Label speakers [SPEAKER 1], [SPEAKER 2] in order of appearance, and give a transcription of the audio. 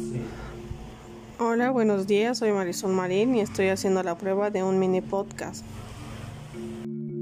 [SPEAKER 1] Hola, buenos días, soy Marisol Marín y estoy haciendo la prueba de un mini podcast.